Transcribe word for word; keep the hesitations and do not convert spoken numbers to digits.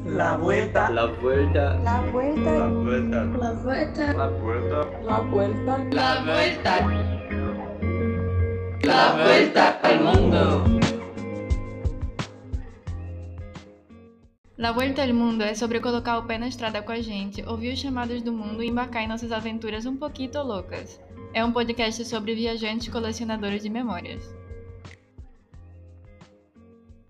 La vuelta. La vuelta. La vuelta. La vuelta. La vuelta. La vuelta. La vuelta. La vuelta. La vuelta al mundo. La Vuelta al Mundo é sobre colocar o pé na estrada com a gente, ouvir os chamados do mundo e embarcar em nossas aventuras um pouquinho loucas. É um podcast sobre viajantes colecionadores de memórias.